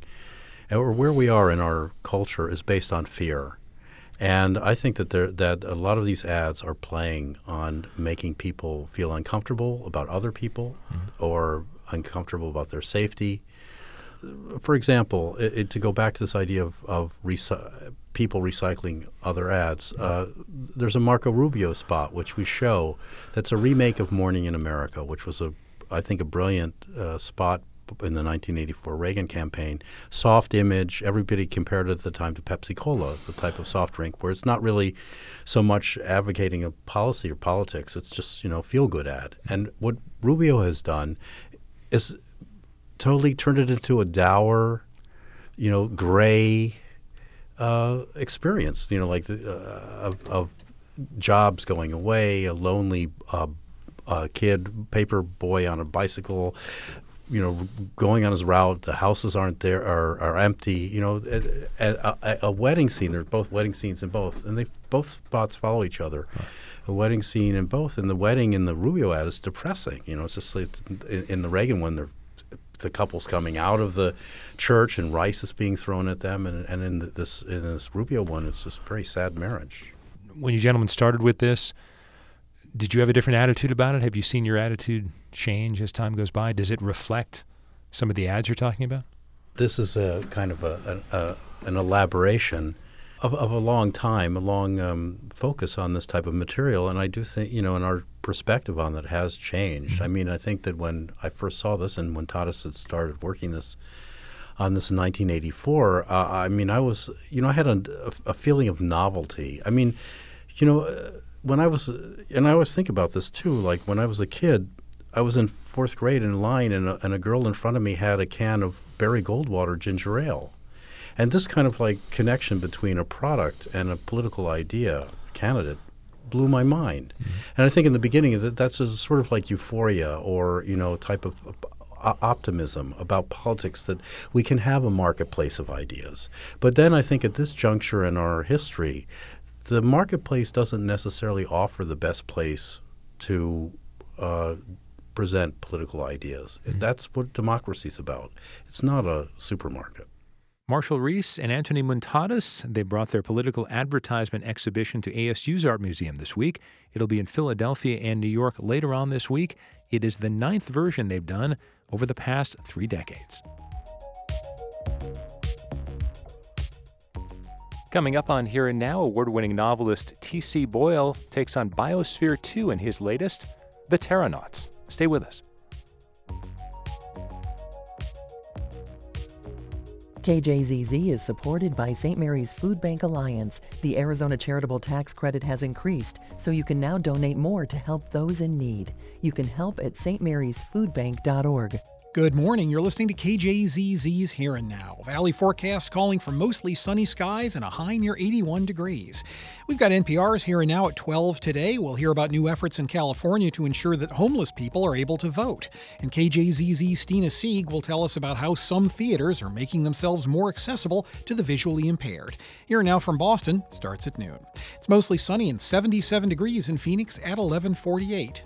or where we are in our culture, is based on fear. And I think that there, that a lot of these ads are playing on making people feel uncomfortable about other people mm-hmm. or uncomfortable about their safety. For example, it, it, to go back to this idea of, of recy- people recycling other ads, uh, there's a Marco Rubio spot which we show that's a remake of Morning in America, which was, a, I think, a brilliant uh, spot in the nineteen eighty-four Reagan campaign. Soft image, everybody compared it at the time to Pepsi Cola, the type of soft drink, where it's not really so much advocating a policy or politics. It's just, you know, feel-good ad. And what Rubio has done is totally turned it into a dour, you know, gray uh, experience, you know, like the, uh, of, of jobs going away, a lonely uh, uh, kid, paper boy on a bicycle, you know, going on his route. The houses aren't there, are, are empty. You know, a, a, a wedding scene. There's both wedding scenes in both, and they both spots follow each other. Right. A wedding scene in both, and the wedding in the Rubio ad is depressing. You know, it's just like in, in the Reagan one, they're the couple's coming out of the church and rice is being thrown at them, and and in this in this Rubio one, it's just a very sad marriage.
When you gentlemen started with this, did you have a different attitude about it? Have you seen your attitude change as time goes by? Does it reflect some of the ads you're talking about?
This is a kind of a, a, a an elaboration of, of a long time, a long um, focus on this type of material, and I do think, you know, and our perspective on that has changed. Mm-hmm. I mean, I think that when I first saw this and when Tadas had started working this on this in nineteen eighty-four, uh, I mean, I was, you know, I had a, a feeling of novelty. I mean, you know, uh, when I was, and I always think about this too, like when I was a kid, I was in fourth grade in line, and a, and a girl in front of me had a can of Barry Goldwater ginger ale. And this kind of like connection between a product and a political idea, candidate, blew my mind. Mm-hmm. And I think in the beginning that that's a sort of like euphoria or, you know, type of uh, optimism about politics, that we can have a marketplace of ideas. But then I think at this juncture in our history, the marketplace doesn't necessarily offer the best place to uh, present political ideas. Mm-hmm. That's what democracy's about. It's not a supermarket.
Marshall Reese and Anthony Montadas, they brought their political advertisement exhibition to A S U's Art Museum this week. It'll be in Philadelphia and New York later on this week. It is the ninth version they've done over the past three decades. Coming up on Here and Now, award-winning novelist T C. Boyle takes on Biosphere two in his latest, The Terranauts. Stay with us.
K J Z Z is supported by Saint Mary's Food Bank Alliance. The Arizona Charitable Tax Credit has increased, so you can now donate more to help those in need. You can help at s t marys food bank dot org.
Good morning. You're listening to K J Z Z's Here and Now. Valley forecast calling for mostly sunny skies and a high near eighty-one degrees. We've got N P R's Here and Now at twelve today. We'll hear about new efforts in California to ensure that homeless people are able to vote. And K J Z Z's Stina Sieg will tell us about how some theaters are making themselves more accessible to the visually impaired. Here and Now from Boston starts at noon. It's mostly sunny and seventy-seven degrees in Phoenix at eleven forty-eight.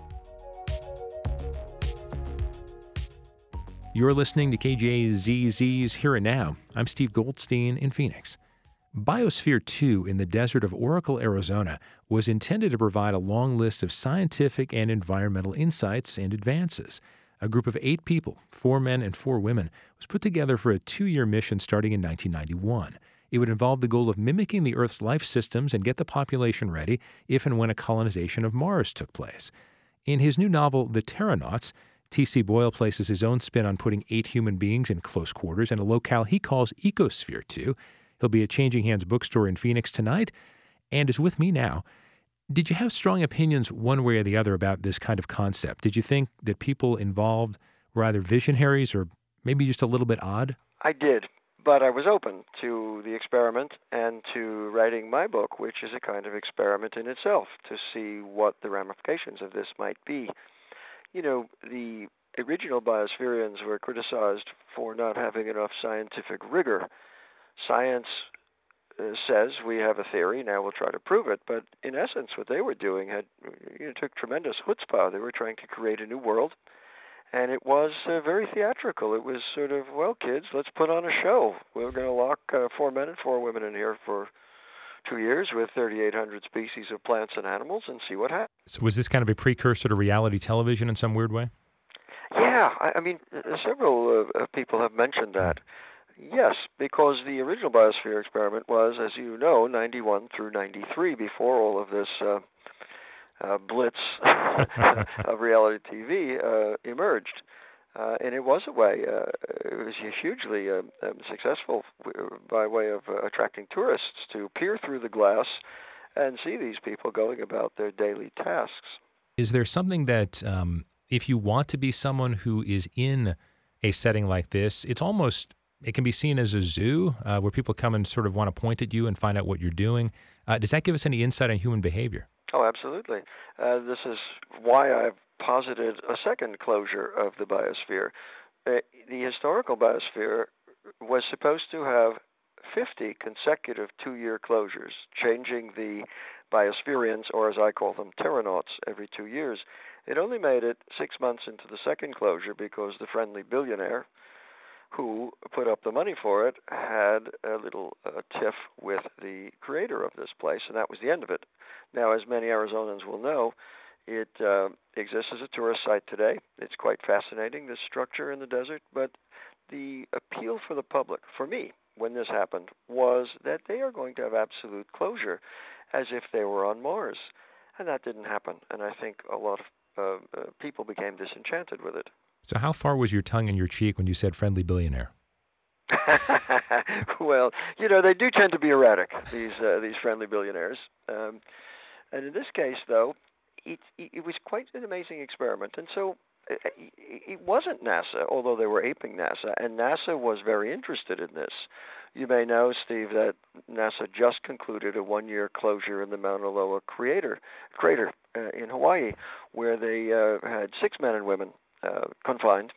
You're listening to K J Z Z's Here and Now. I'm Steve Goldstein in Phoenix. Biosphere two in the desert of Oracle, Arizona, was intended to provide a long list of scientific and environmental insights and advances. A group of eight people, four men and four women, was put together for a two-year mission starting in nineteen ninety-one. It would involve the goal of mimicking the Earth's life systems and get the population ready if and when a colonization of Mars took place. In his new novel, The Terranauts, T C. Boyle places his own spin on putting eight human beings in close quarters in a locale he calls Ecosphere two. He'll be at Changing Hands bookstore in Phoenix tonight and is with me now. Did you have strong opinions one way or the other about this kind of concept? Did you think that people involved were either visionaries or maybe just a little bit odd?
I did, but I was open to the experiment and to writing my book, which is a kind of experiment in itself, to see what the ramifications of this might be. You know, the original biospherians were criticized for not having enough scientific rigor. Science uh, says we have a theory, now we'll try to prove it. But in essence, what they were doing had you know, took tremendous chutzpah. They were trying to create a new world, and it was uh, very theatrical. It was sort of, well, kids, let's put on a show. We're going to lock uh, four men and four women in here for two years with thirty-eight hundred species of plants and animals and see what happens.
So was this kind of a precursor to reality television in some weird way?
Yeah, I, I mean, uh, several uh, people have mentioned that. Yes, because the original Biosphere experiment was, as you know, ninety-one through ninety-three, before all of this uh, uh, blitz of reality T V uh, emerged. Uh, and it was a way, uh, it was hugely uh, um, successful by way of uh, attracting tourists to peer through the glass and see these people going about their daily tasks.
Is there something that, um, if you want to be someone who is in a setting like this, it's almost, it can be seen as a zoo uh, where people come and sort of want to point at you and find out what you're doing. Uh, does that give us any insight on human behavior?
Oh, absolutely. Uh, this is why I've posited a second closure of the biosphere. Uh, the historical biosphere was supposed to have fifty consecutive two-year closures, changing the biospherians, or as I call them, terranauts, every two years. It only made it six months into the second closure because the friendly billionaire who put up the money for it had a little uh, tiff with the creator of this place, and that was the end of it. Now, as many Arizonans will know, it uh, exists as a tourist site today. It's quite fascinating, this structure in the desert, but the appeal for the public, for me, when this happened, was that they are going to have absolute closure as if they were on Mars. And that didn't happen, and I think a lot of uh, uh, people became disenchanted with it.
So how far was your tongue in your cheek when you said friendly billionaire?
Well, you know, they do tend to be erratic, these uh, these friendly billionaires. Um, and in this case, though, it, it was quite an amazing experiment. And so it, it wasn't NASA, although they were aping NASA, and NASA was very interested in this. You may know, Steve, that NASA just concluded a one-year closure in the Mauna Loa crater, crater uh, in Hawaii, where they uh, had six men and women uh, confined.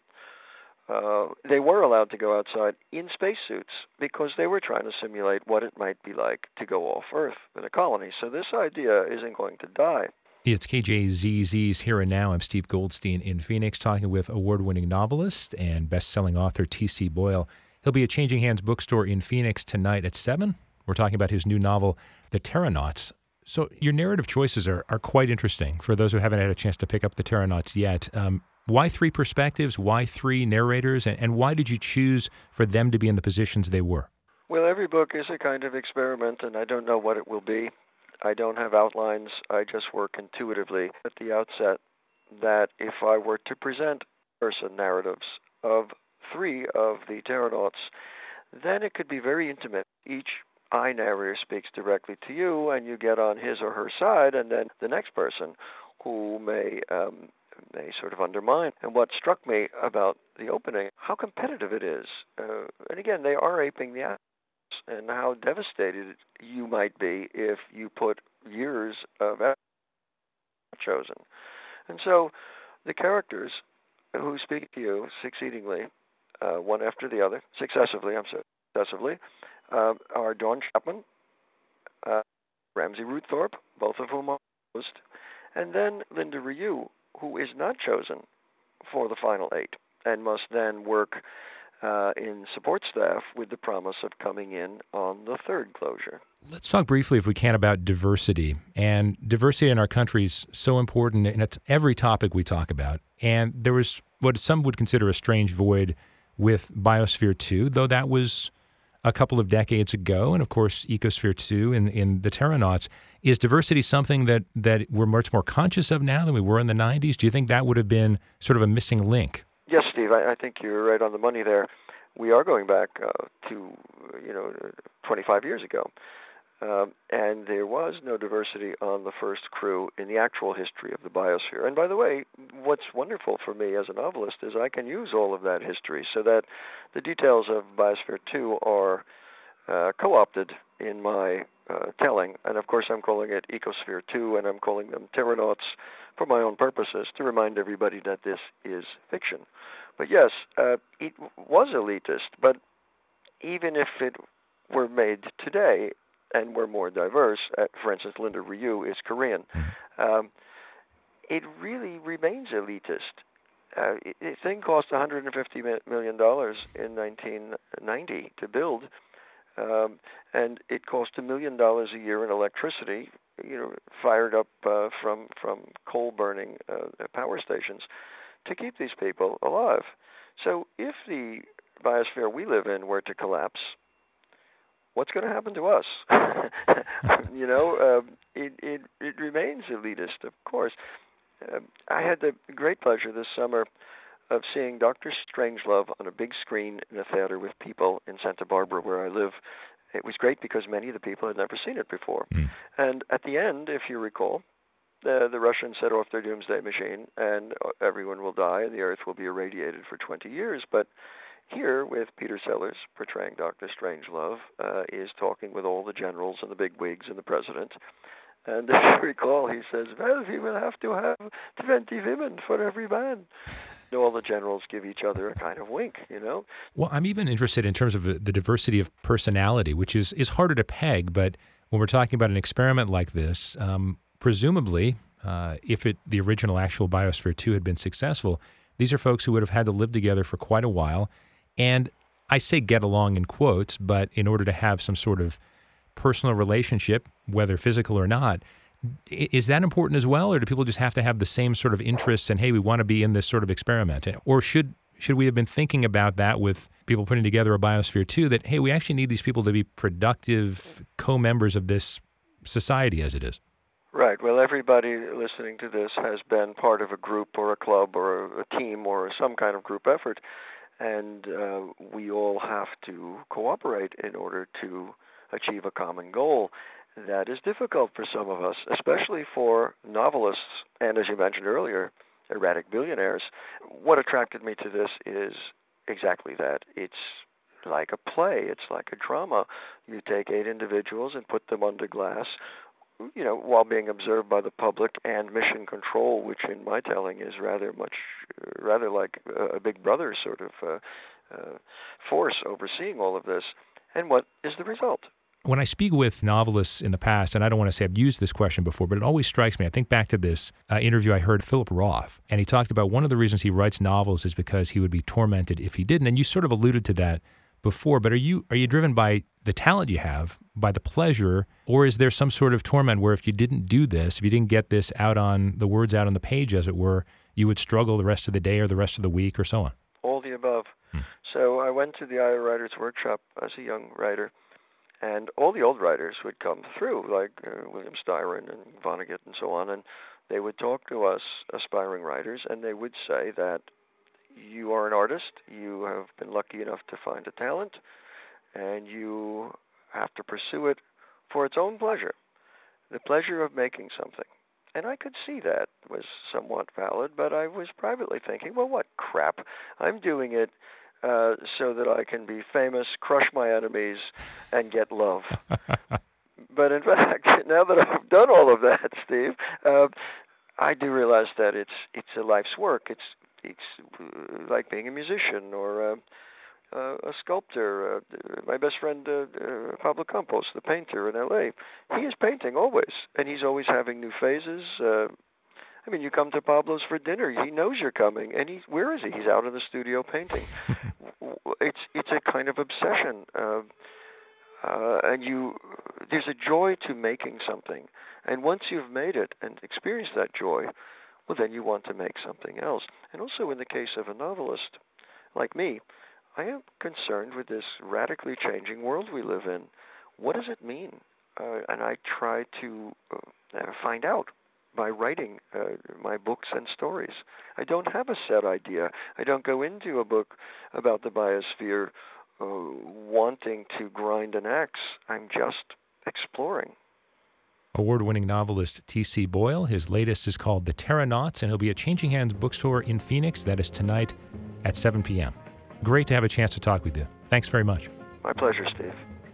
Uh, they were allowed to go outside in spacesuits because they were trying to simulate what it might be like to go off Earth in a colony. So this idea isn't going to die.
It's K J Z Z's Here and Now. I'm Steve Goldstein in Phoenix, talking with award-winning novelist and best-selling author T C. Boyle. He'll be at Changing Hands Bookstore in Phoenix tonight at seven. We're talking about his new novel, The Terranauts. So your narrative choices are, are quite interesting for those who haven't had a chance to pick up The Terranauts yet. Um, why three perspectives? Why three narrators? And, and why did you choose for them to be in the positions they were?
Well, every book is a kind of experiment, and I don't know what it will be. I don't have outlines. I just work intuitively at the outset that if I were to present person narratives of three of the Terranauts, then it could be very intimate. Each I narrator speaks directly to you, and you get on his or her side, and then the next person who may um, may sort of undermine. And what struck me about the opening, how competitive it is. Uh, and again, they are aping the actors, and how devastated you might be if you put years of effort chosen. And so the characters who speak to you succeedingly, uh, one after the other, successively, I'm sorry, successively, uh, are Dawn Chapman, uh, Ramsey Ruththorpe, both of whom are host, and then Linda Ryu, who is not chosen for the final eight and must then work uh, in support staff with the promise of coming in on the third closure.
Let's talk briefly, if we can, about diversity. And diversity in our country is so important, and it's every topic we talk about. And there was what some would consider a strange void with Biosphere two, though that was a couple of decades ago, and of course Ecosphere two in, in the Terranauts. Is diversity something that, that we're much more conscious of now than we were in the nineties? Do you think that would have been sort of a missing link?
Yes, Steve, I, I think you're right on the money there. We are going back uh, to, you know, twenty-five years ago. Um, and there was no diversity on the first crew in the actual history of the biosphere. And by the way, what's wonderful for me as a novelist is I can use all of that history so that the details of Biosphere two are uh, co-opted in my uh, telling. And of course, I'm calling it Ecosphere two, and I'm calling them Terranauts for my own purposes to remind everybody that this is fiction. But yes, uh, it was elitist, but even if it were made today, and we're more diverse, uh, for instance, Linda Ryu is Korean, um, it really remains elitist. Uh, it, the thing cost one hundred fifty million dollars in nineteen ninety to build, um, and it cost a million dollars a year in electricity, you know, fired up uh, from, from coal-burning uh, power stations to keep these people alive. So if the biosphere we live in were to collapse, what's going to happen to us? you know, um, it, it it remains elitist, of course. Uh, I had the great pleasure this summer of seeing Doctor Strangelove on a big screen in a theater with people in Santa Barbara, where I live. It was great because many of the people had never seen it before. Mm. And at the end, if you recall, the, the Russians set off their doomsday machine, and everyone will die, and the Earth will be irradiated for twenty years. But here, with Peter Sellers portraying Doctor Strangelove, uh, is talking with all the generals and the big wigs and the president. And if you recall, he says, well, we will have to have twenty women for every man. And all the generals give each other a kind of wink, you know?
Well, I'm even interested in terms of the diversity of personality, which is, is harder to peg. But when we're talking about an experiment like this, um, presumably, uh, if it the original actual Biosphere two had been successful, these are folks who would have had to live together for quite a while. And I say get along in quotes, but in order to have some sort of personal relationship, whether physical or not, is that important as well? Or do people just have to have the same sort of interests and, hey, we want to be in this sort of experiment? Or should should we have been thinking about that with people putting together a Biosphere two, that, hey, we actually need these people to be productive co-members of this society as it is?
Right. Well, everybody listening to this has been part of a group or a club or a team or some kind of group effort. And uh, we all have to cooperate in order to achieve a common goal. That is difficult for some of us, especially for novelists and, as you mentioned earlier, erratic billionaires. What attracted me to this is exactly that. It's like a play. It's like a drama. You take eight individuals and put them under glass, you know, while being observed by the public and mission control, which in my telling is rather much, rather like a Big Brother sort of uh, uh, force overseeing all of this. And what is the result?
When I speak with novelists in the past, and I don't want to say I've used this question before, but it always strikes me. I think back to this uh, interview I heard Philip Roth, and he talked about one of the reasons he writes novels is because he would be tormented if he didn't. And you sort of alluded to that before, but are you are you driven by the talent you have, by the pleasure, or is there some sort of torment where if you didn't do this, if you didn't get this out on the words out on the page, as it were, you would struggle the rest of the day or the rest of the week or so on?
All the above. Hmm. So I went to the Iowa Writers Workshop as a young writer, and all the old writers would come through, like uh, William Styron and Vonnegut and so on, and they would talk to us aspiring writers, and they would say that you are an artist, you have been lucky enough to find a talent, and you have to pursue it for its own pleasure, the pleasure of making something. And I could see that was somewhat valid, but I was privately thinking, well, what crap? I'm doing it uh, so that I can be famous, crush my enemies, and get love. But in fact, now that I've done all of that, Steve, uh, I do realize that it's it's a life's work. It's it's like being a musician or a, a, a sculptor. Uh, my best friend, uh, uh, Pablo Campos, the painter in L A, he is painting always, and he's always having new phases. Uh, I mean, you come to Pablo's for dinner, he knows you're coming, and he's where is he? He's out in the studio painting. it's it's a kind of obsession, uh, uh, and you there's a joy to making something, and once you've made it and experienced that joy, well, then you want to make something else. And also in the case of a novelist like me, I am concerned with this radically changing world we live in. What does it mean? Uh, and I try to uh, find out by writing uh, my books and stories. I don't have a set idea. I don't go into a book about the biosphere uh, wanting to grind an axe. I'm just exploring.
Award-winning novelist T C. Boyle. His latest is called The Terranauts, and he'll be at Changing Hands Bookstore in Phoenix. That is tonight at seven p.m. Great to have a chance to talk with you. Thanks very much.
My pleasure, Steve.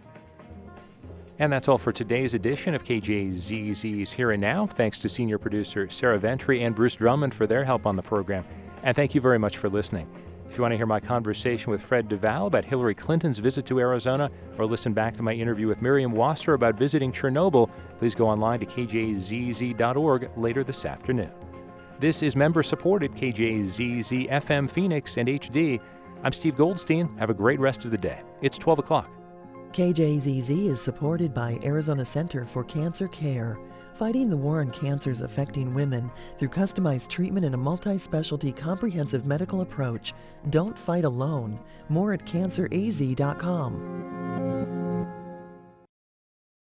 And that's all for today's edition of K J Z Z's Here and Now. Thanks to senior producer Sarah Ventry and Bruce Drummond for their help on the program. And thank you very much for listening. If you want to hear my conversation with Fred Duvall about Hillary Clinton's visit to Arizona, or listen back to my interview with Miriam Wasser about visiting Chernobyl, please go online to K J Z Z dot org later this afternoon. This is member-supported K J Z Z F M Phoenix and H D. I'm Steve Goldstein. Have a great rest of the day. It's twelve o'clock.
K J Z Z is supported by Arizona Center for Cancer Care, fighting the war on cancers affecting women through customized treatment and a multi-specialty comprehensive medical approach. Don't fight alone. More at cancer a z dot com.